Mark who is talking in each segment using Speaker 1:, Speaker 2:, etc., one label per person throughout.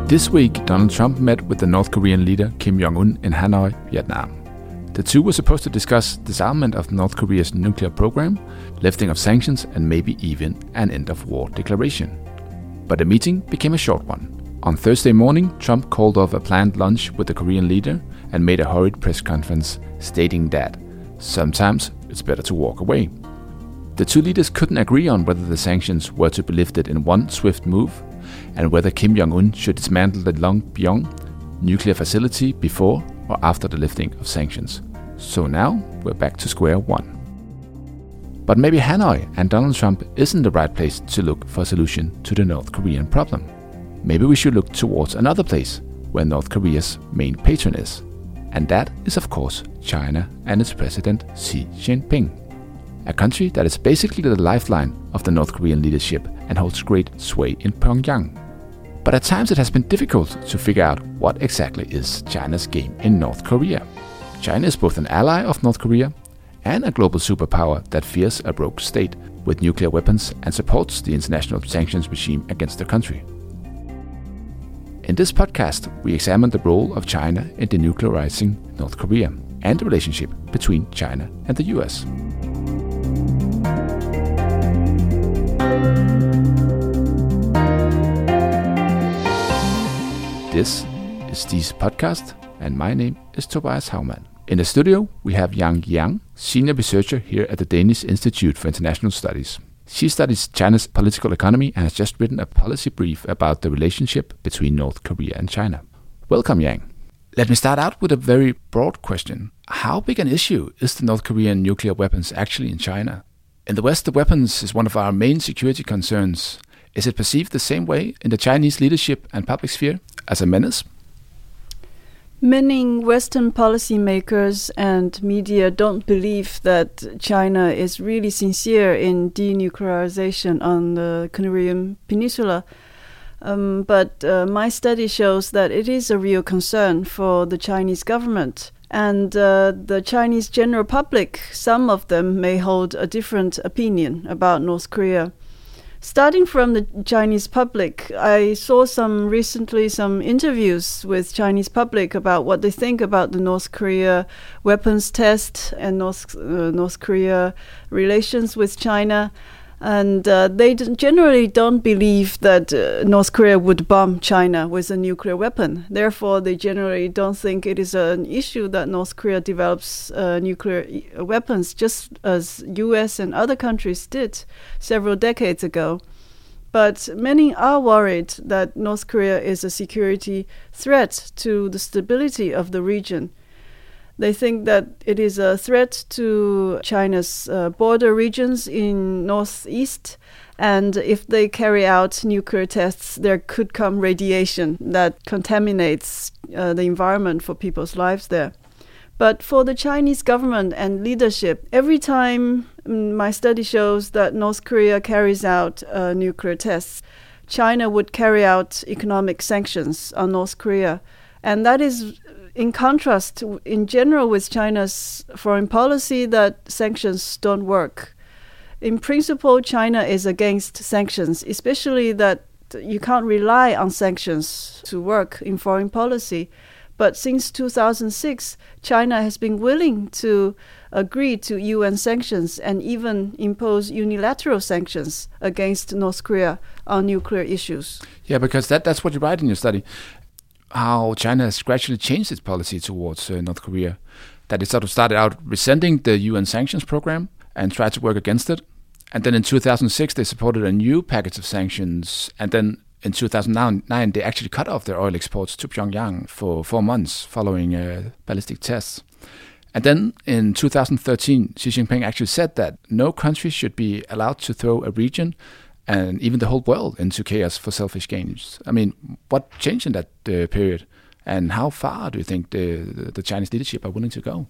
Speaker 1: This week, Donald Trump met with the North Korean leader Kim Jong-un in Hanoi, Vietnam. The two were supposed to discuss disarmament of North Korea's nuclear program, lifting of sanctions, and maybe even an end-of-war declaration. But the meeting became a short one. On Thursday morning, Trump called off a planned lunch with the Korean leader and made a hurried press conference stating that sometimes it's better to walk away. The two leaders couldn't agree on whether the sanctions were to be lifted in one swift move and whether Kim Jong-un should dismantle the Longpyong nuclear facility before or after the lifting of sanctions. So now we're back to square one. But maybe Hanoi and Donald Trump isn't the right place to look for a solution to the North Korean problem. Maybe we should look towards another place where North Korea's main patron is. And that is of course China and its president Xi Jinping. A country that is basically the lifeline of the North Korean leadership and holds great sway in Pyongyang. But at times it has been difficult to figure out what exactly is China's game in North Korea. China is both an ally of North Korea and a global superpower that fears a rogue state with nuclear weapons and supports the international sanctions regime against the country. In this podcast, we examine the role of China in denuclearizing North Korea and the relationship between China and the US. This is Steve's podcast, and my name is Tobias Haumann. In the studio, we have Yang Yang, senior researcher here at the Danish Institute for International Studies. She studies China's political economy and has just written a policy brief about the relationship between North Korea and China. Welcome, Yang. Let me start out with a very broad question. How big an issue is the North Korean nuclear weapons actually in China? In the West, the weapons is one of our main security concerns. Is it perceived the same way in the Chinese leadership and public sphere as a menace?
Speaker 2: Many Western policymakers and media don't believe that China is really sincere in denuclearization on the Korean Peninsula. But my study shows that it is a real concern for the Chinese government. And the Chinese general public, some of them may hold a different opinion about North Korea. Starting from the Chinese public, I saw recently some interviews with Chinese public about what they think about the North Korea weapons test and North Korea relations with China. And they generally don't believe that North Korea would bomb China with a nuclear weapon. Therefore, they generally don't think it is an issue that North Korea develops nuclear weapons, just as US and other countries did several decades ago. But many are worried that North Korea is a security threat to the stability of the region. They think that it is a threat to China's border regions in northeast, and if they carry out nuclear tests, there could come radiation that contaminates the environment for people's lives there. But for the Chinese government and leadership, every time my study shows that North Korea carries out nuclear tests, China would carry out economic sanctions on North Korea. And that is in contrast, in general, with China's foreign policy that sanctions don't work. In principle, China is against sanctions, especially that you can't rely on sanctions to work in foreign policy. But since 2006, China has been willing to agree to UN sanctions and even impose unilateral sanctions against North Korea on nuclear issues.
Speaker 1: Yeah, because that's what you write in your study. How China has gradually changed its policy towards North Korea. That it sort of started out resenting the UN sanctions program and tried to work against it. And then in 2006, they supported a new package of sanctions. And then in 2009, they actually cut off their oil exports to Pyongyang for 4 months following ballistic tests. And then in 2013, Xi Jinping actually said that no country should be allowed to throw a region and even the whole world into chaos for selfish gains. I mean, what changed in that period? And how far do you think the Chinese leadership are willing to go?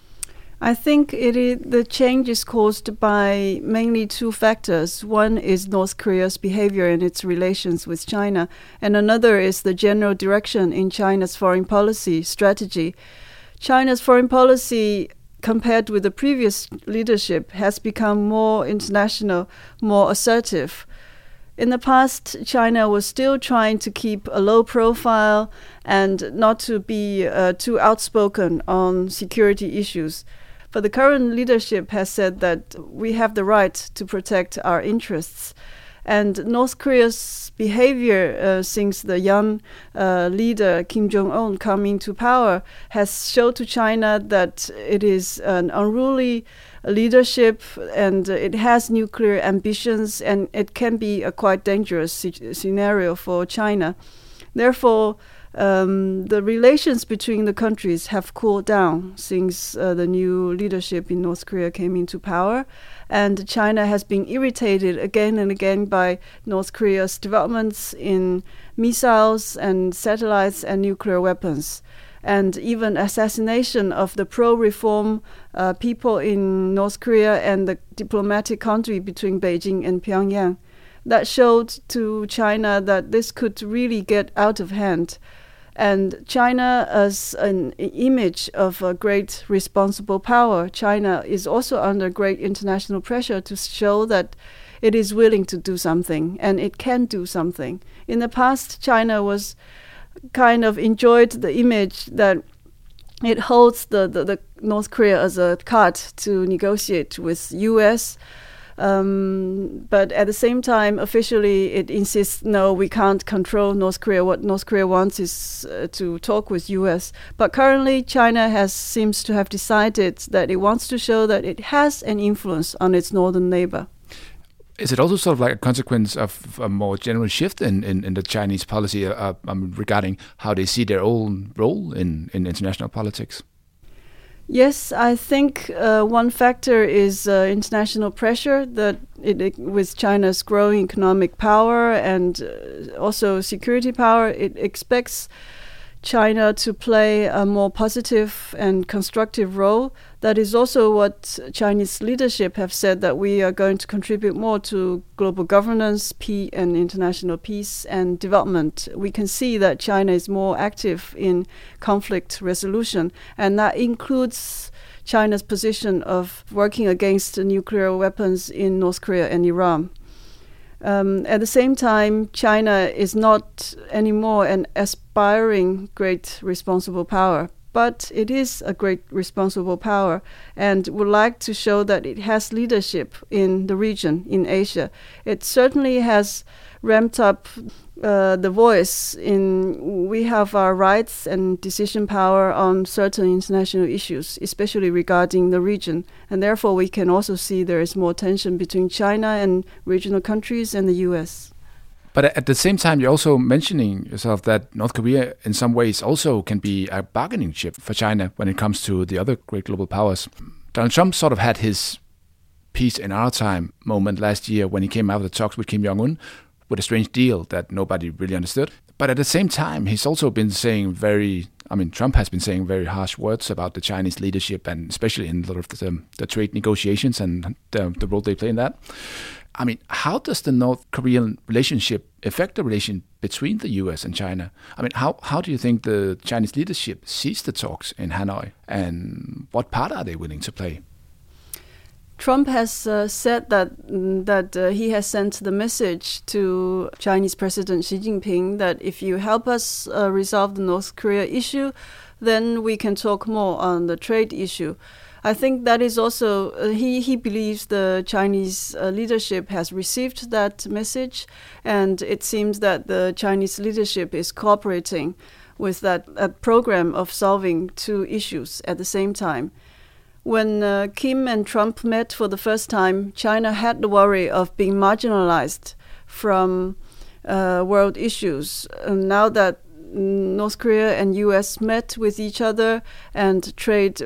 Speaker 2: I think the change is caused by mainly two factors. One is North Korea's behavior and its relations with China, and another is the general direction in China's foreign policy strategy. China's foreign policy, compared with the previous leadership, has become more international, more assertive. In the past, China was still trying to keep a low profile and not to be too outspoken on security issues. But the current leadership has said that we have the right to protect our interests. And North Korea's behavior since the young leader Kim Jong-un coming to power has shown to China that it is an unruly leadership and it has nuclear ambitions, and it can be a quite dangerous scenario for China. Therefore, the relations between the countries have cooled down since the new leadership in North Korea came into power, and China has been irritated again and again by North Korea's developments in missiles and satellites and nuclear weapons, and even assassination of the pro-reform people in North Korea and the diplomatic country between Beijing and Pyongyang. That showed to China that this could really get out of hand. And China, as an image of a great responsible power, China is also under great international pressure to show that it is willing to do something and it can do something. In the past, China was kind of enjoyed the image that it holds the North Korea as a card to negotiate with U.S., but at the same time, officially, it insists, no, we can't control North Korea. What North Korea wants is to talk with U.S. But currently, China seems to have decided that it wants to show that it has an influence on its northern neighbor.
Speaker 1: Is it also sort of like a consequence of a more general shift in the Chinese policy regarding how they see their own role in international politics?
Speaker 2: Yes, I think one factor is international pressure that with China's growing economic power and also security power, it expects China to play a more positive and constructive role. That is also what Chinese leadership have said, that we are going to contribute more to global governance, and international peace and development. We can see that China is more active in conflict resolution, and that includes China's position of working against nuclear weapons in North Korea and Iran. At the same time, China is not anymore an aspiring great responsible power, but it is a great responsible power and would like to show that it has leadership in the region, in Asia. It certainly has ramped up the voice in we have our rights and decision power on certain international issues, especially regarding the region. And therefore, we can also see there is more tension between China and regional countries and the U.S.
Speaker 1: But at the same time, you're also mentioning yourself that North Korea in some ways also can be a bargaining chip for China when it comes to the other great global powers. Donald Trump sort of had his peace in our time moment last year when he came out of the talks with Kim Jong-un with a strange deal that nobody really understood. But at the same time, he's also been saying Trump has been saying very harsh words about the Chinese leadership, and especially in a lot of the trade negotiations and the role they play in that. I mean, how does the North Korean relationship affect the relation between the U.S. and China? I mean, how do you think the Chinese leadership sees the talks in Hanoi, and what part are they willing to play?
Speaker 2: Trump has said that he has sent the message to Chinese President Xi Jinping that if you help us resolve the North Korea issue, then we can talk more on the trade issue. I think that is also, he believes the Chinese leadership has received that message, and it seems that the Chinese leadership is cooperating with that program of solving two issues at the same time. When Kim and Trump met for the first time, China had the worry of being marginalized from world issues. Now that North Korea and U.S. met with each other, and the trade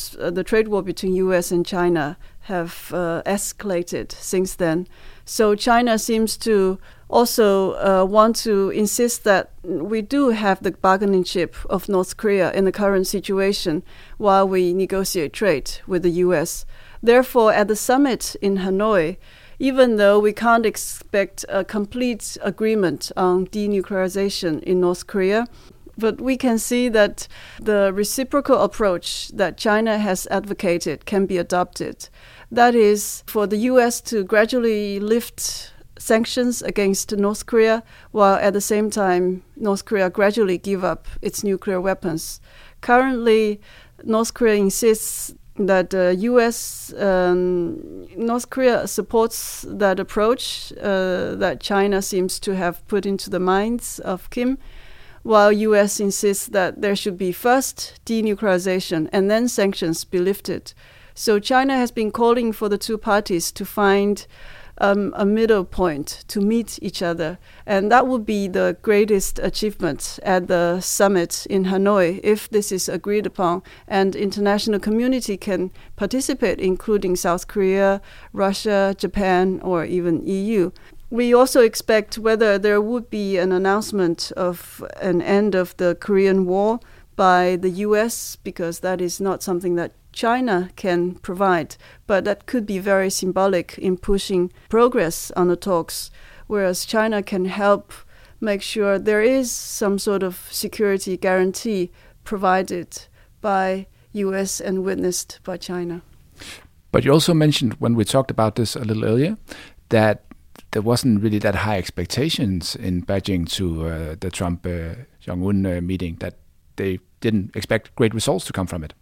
Speaker 2: war between U.S. and China have escalated since then. So China seems to also want to insist that we do have the bargaining chip of North Korea in the current situation while we negotiate trade with the U.S. Therefore, at the summit in Hanoi, even though we can't expect a complete agreement on denuclearization in North Korea, but we can see that the reciprocal approach that China has advocated can be adopted. That is, for the U.S. to gradually lift sanctions against North Korea, while at the same time North Korea gradually give up its nuclear weapons. Currently, North Korea insists that North Korea supports that approach that China seems to have put into the minds of Kim, while U.S. insists that there should be first denuclearization and then sanctions be lifted. So China has been calling for the two parties to find a middle point to meet each other. And that would be the greatest achievement at the summit in Hanoi if this is agreed upon and international community can participate, including South Korea, Russia, Japan, or even EU. We also expect whether there would be an announcement of an end of the Korean War by the US, because that is not something that China can provide, but that could be very symbolic in pushing progress on the talks, whereas China can help make sure there is some sort of security guarantee provided by US and witnessed by China.
Speaker 1: But you also mentioned, when we talked about this a little earlier, that there wasn't really that high expectations in Beijing to the Trump-Jong-un meeting, that they didn't expect great results to come from it.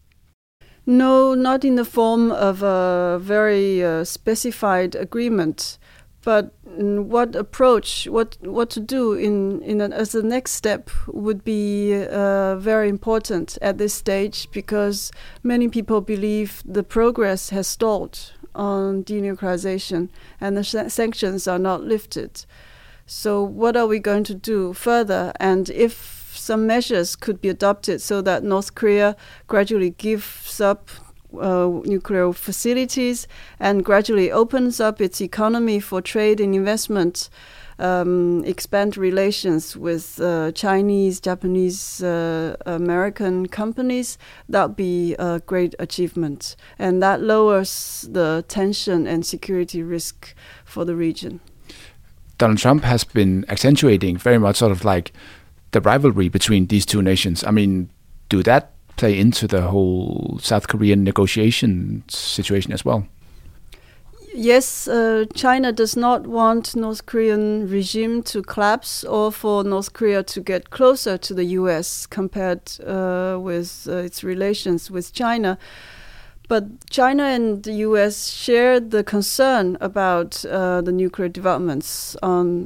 Speaker 2: No, not in the form of a very specified agreement, but what approach, what to do as the next step would be very important at this stage, because many people believe the progress has stalled on denuclearization and the sanctions are not lifted. So what are we going to do further? And if some measures could be adopted so that North Korea gradually gives up nuclear facilities and gradually opens up its economy for trade and investment, expand relations with Chinese, Japanese, American companies, that would be a great achievement. And that lowers the tension and security risk for the region.
Speaker 1: Donald Trump has been accentuating very much sort of like the rivalry between these two nations. I mean, do that play into the whole South Korean negotiation situation as well?
Speaker 2: Yes, China does not want North Korean regime to collapse or for North Korea to get closer to the U.S. compared with its relations with China. But China and the U.S. shared the concern about the nuclear developments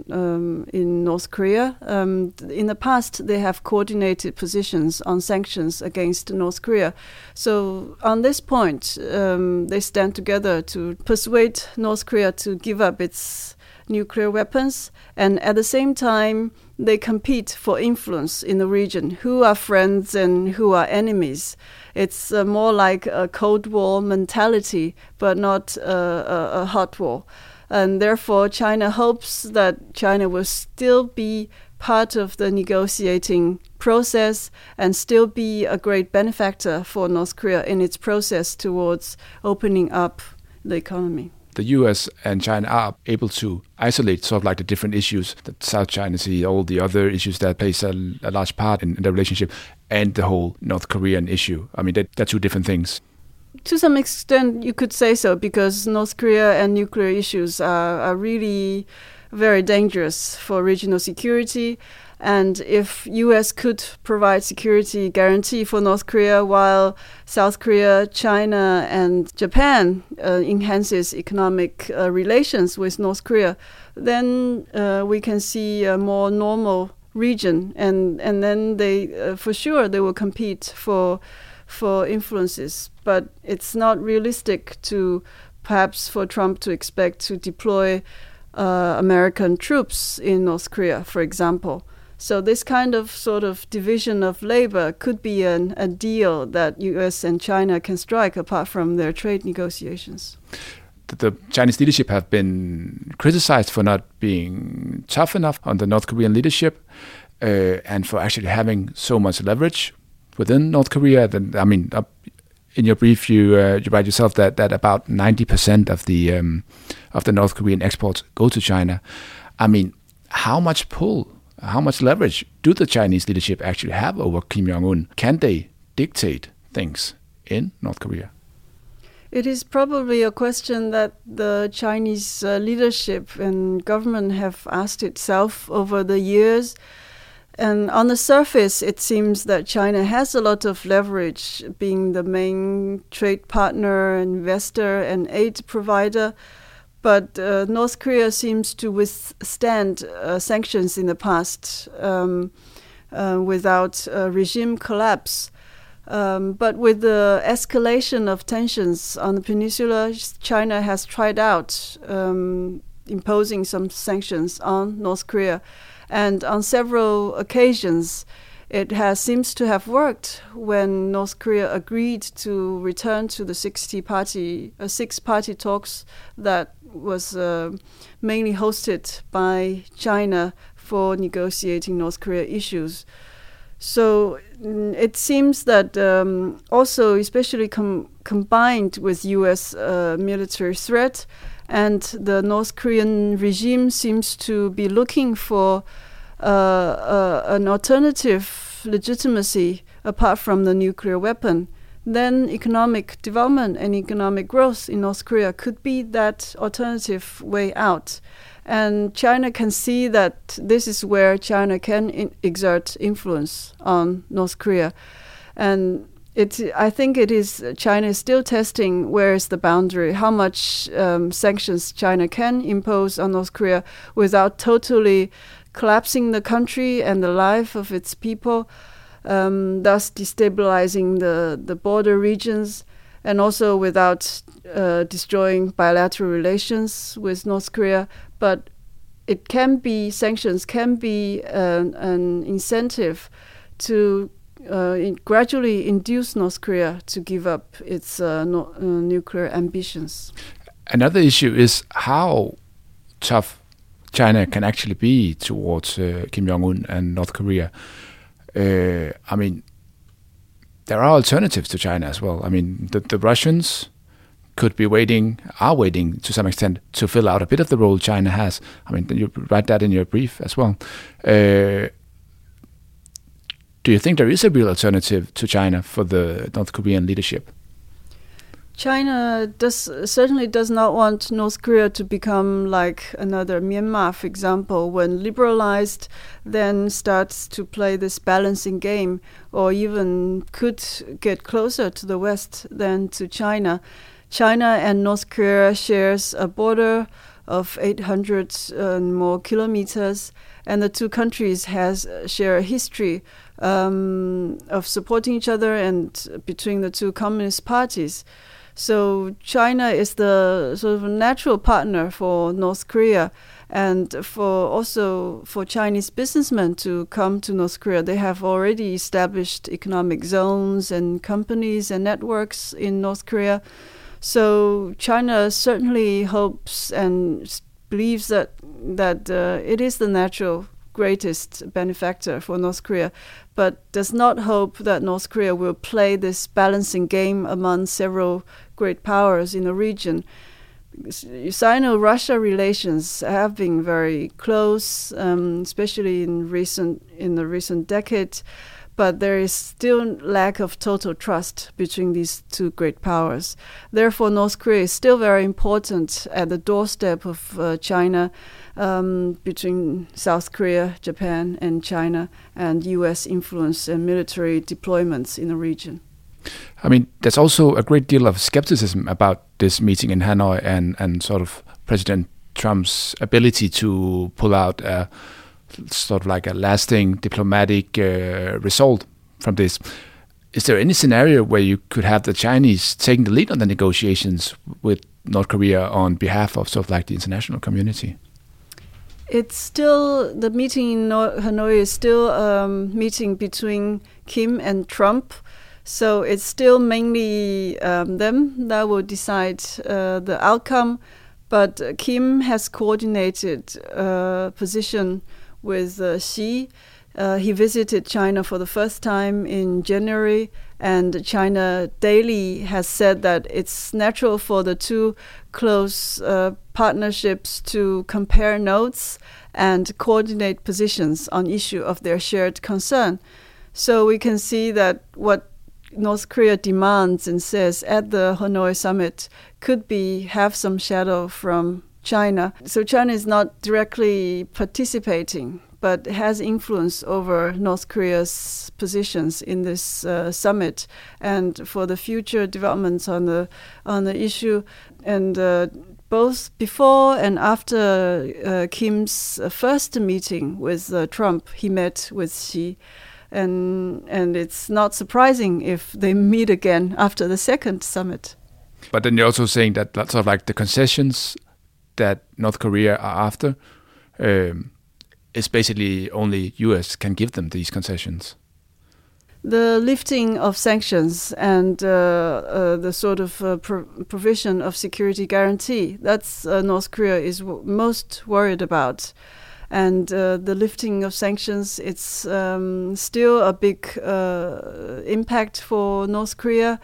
Speaker 2: in North Korea. In the past, they have coordinated positions on sanctions against North Korea. So on this point, they stand together to persuade North Korea to give up its nuclear weapons, and at the same time, they compete for influence in the region. Who are friends and who are enemies? It's more like a Cold War mentality, but not a hot war. And therefore, China hopes that China will still be part of the negotiating process and still be a great benefactor for North Korea in its process towards opening up the economy.
Speaker 1: The US and China are able to isolate sort of like the different issues, the South China Sea, all the other issues that plays a large part in the relationship, and the whole North Korean issue. I mean, they're two different things.
Speaker 2: To some extent, you could say so, because North Korea and nuclear issues are really very dangerous for regional security. And if U.S. could provide security guarantee for North Korea, while South Korea, China, and Japan enhances economic relations with North Korea, then we can see a more normal region, and then they for sure they will compete for influences. But it's not realistic to perhaps for Trump to expect to deploy American troops in North Korea, for example. So this kind of sort of division of labor could be a deal that U.S. and China can strike apart from their trade negotiations.
Speaker 1: The Chinese leadership have been criticized for not being tough enough on the North Korean leadership and for actually having so much leverage within North Korea. I mean, in your brief, you write yourself that about 90% of the North Korean exports go to China. I mean, how much pull? How much leverage do the Chinese leadership actually have over Kim Jong-un? Can they dictate things in North Korea?
Speaker 2: It is probably a question that the Chinese leadership and government have asked itself over the years. And on the surface, it seems that China has a lot of leverage, being the main trade partner, investor, and aid provider. But North Korea seems to withstand sanctions in the past without regime collapse. But with the escalation of tensions on the peninsula, China has tried out imposing some sanctions on North Korea. And on several occasions, it seems to have worked when North Korea agreed to return to the six-party talks that was mainly hosted by China for negotiating North Korea issues. So it seems that also, especially combined with U.S. Military threat, and the North Korean regime seems to be looking for an alternative legitimacy apart from the nuclear weapon, then economic development and economic growth in North Korea could be that alternative way out. And China can see that this is where China can exert influence on North Korea. And I think it is China is still testing where is the boundary, how much sanctions China can impose on North Korea without totally collapsing the country and the life of its people, thus destabilizing the border regions, and also without destroying bilateral relations with North Korea. But sanctions can be an incentive to gradually induce North Korea to give up its nuclear ambitions.
Speaker 1: Another issue is how tough China can actually be towards Kim Jong-un and North Korea. I mean, there are alternatives to China as well. I mean, the Russians are waiting to some extent to fill out a bit of the role China has. I mean, you write that in your brief as well. Do you think there is a real alternative to China for the North Korean leadership?
Speaker 2: China certainly does not want North Korea to become like another Myanmar, for example, when liberalized, then starts to play this balancing game, or even could get closer to the West than to China. China and North Korea shares a border of 800 and more kilometers, and the two countries share a history of supporting each other and between the two communist parties. So China is the sort of natural partner for North Korea, and for Chinese businessmen to come to North Korea. They have already established economic zones and companies and networks in North Korea. So China certainly hopes and believes that it is the natural greatest benefactor for North Korea, but does not hope that North Korea will play this balancing game among several great powers in the region. Sino-Russia relations have been very close, especially in the recent decade, but there is still lack of total trust between these two great powers. Therefore, North Korea is still very important at the doorstep of China, between South Korea, Japan, and China, and U.S. influence and military deployments in the region.
Speaker 1: I mean, there's also a great deal of skepticism about this meeting in Hanoi and sort of President Trump's ability to pull out sort of like a lasting diplomatic result from this. Is there any scenario where you could have the Chinese taking the lead on the negotiations with North Korea on behalf of sort of like the international community?
Speaker 2: It's still, the meeting in Hanoi is still a meeting between Kim and Trump. So it's still mainly them that will decide the outcome. But Kim has coordinated position with Xi. He visited China for the first time in January, and China Daily has said that it's natural for the two close partnerships to compare notes and coordinate positions on issue of their shared concern. So we can see that what North Korea demands and says at the Hanoi summit could have some shadow from China. So China is not directly participating, but has influence over North Korea's positions in this summit and for the future developments on the issue. And both before and after Kim's first meeting with Trump, he met with Xi. And it's not surprising if they meet again after the second summit.
Speaker 1: But then you're also saying that sort of like the concessions that North Korea are after is basically only US can give them these concessions.
Speaker 2: The lifting of sanctions and the sort of provision of security guarantee, that's North Korea is most worried about. And the lifting of sanctions, it's still a big impact for North Korea.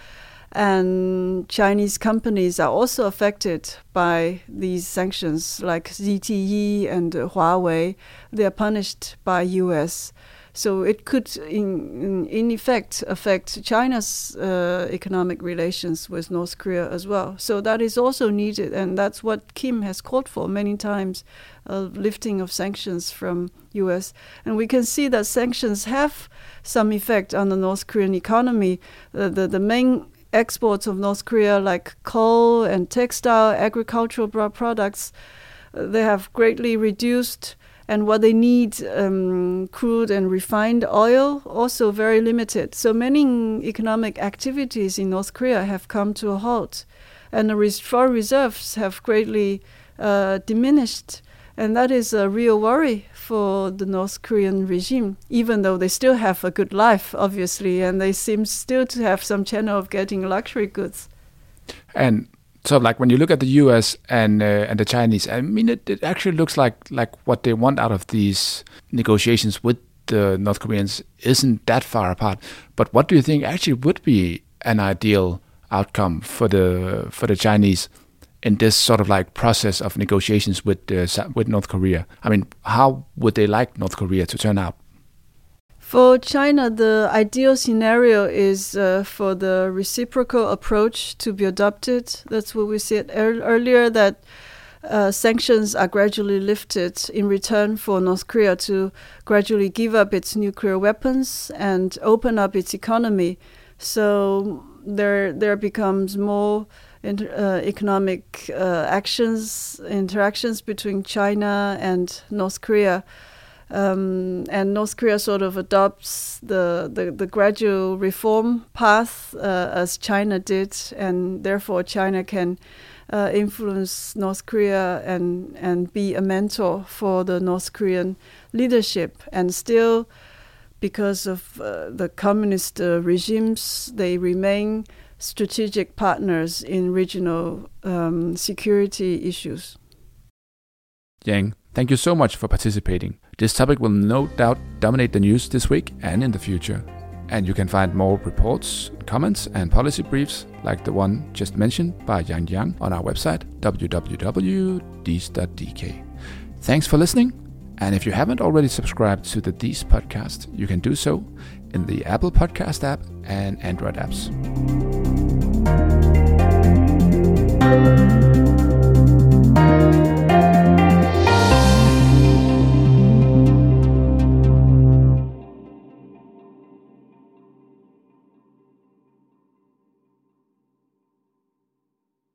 Speaker 2: And Chinese companies are also affected by these sanctions, like ZTE and Huawei. They are punished by US. So it could, in effect, affect China's economic relations with North Korea as well. So that is also needed, and that's what Kim has called for many times, lifting of sanctions from US. And we can see that sanctions have some effect on the North Korean economy. The main exports of North Korea, like coal and textile, agricultural products, they have greatly reduced. And what they need, crude and refined oil, also very limited. So many economic activities in North Korea have come to a halt. And the foreign reserves have greatly diminished. And that is a real worry for the North Korean regime, even though they still have a good life, obviously, and they seem still to have some channel of getting luxury goods.
Speaker 1: And so, like when you look at the U.S. and the Chinese, I mean, it actually looks like what they want out of these negotiations with the North Koreans isn't that far apart. But what do you think actually would be an ideal outcome for the Chinese in this sort of like process of negotiations with North Korea? I mean, how would they like North Korea to turn out?
Speaker 2: For China, the ideal scenario is for the reciprocal approach to be adopted. That's what we said earlier, that sanctions are gradually lifted in return for North Korea to gradually give up its nuclear weapons and open up its economy. So there becomes more economic interactions between China and North Korea. And North Korea sort of adopts the gradual reform path as China did, and therefore China can influence North Korea and be a mentor for the North Korean leadership. And still, because of the communist regimes, they remain strategic partners in regional security issues.
Speaker 1: Yang, thank you so much for participating. This topic will no doubt dominate the news this week and in the future. And you can find more reports, comments and policy briefs like the one just mentioned by Yang on our website, www.dies.dk. Thanks for listening. And if you haven't already subscribed to the Dies podcast, you can do so in the Apple Podcast app and Android apps.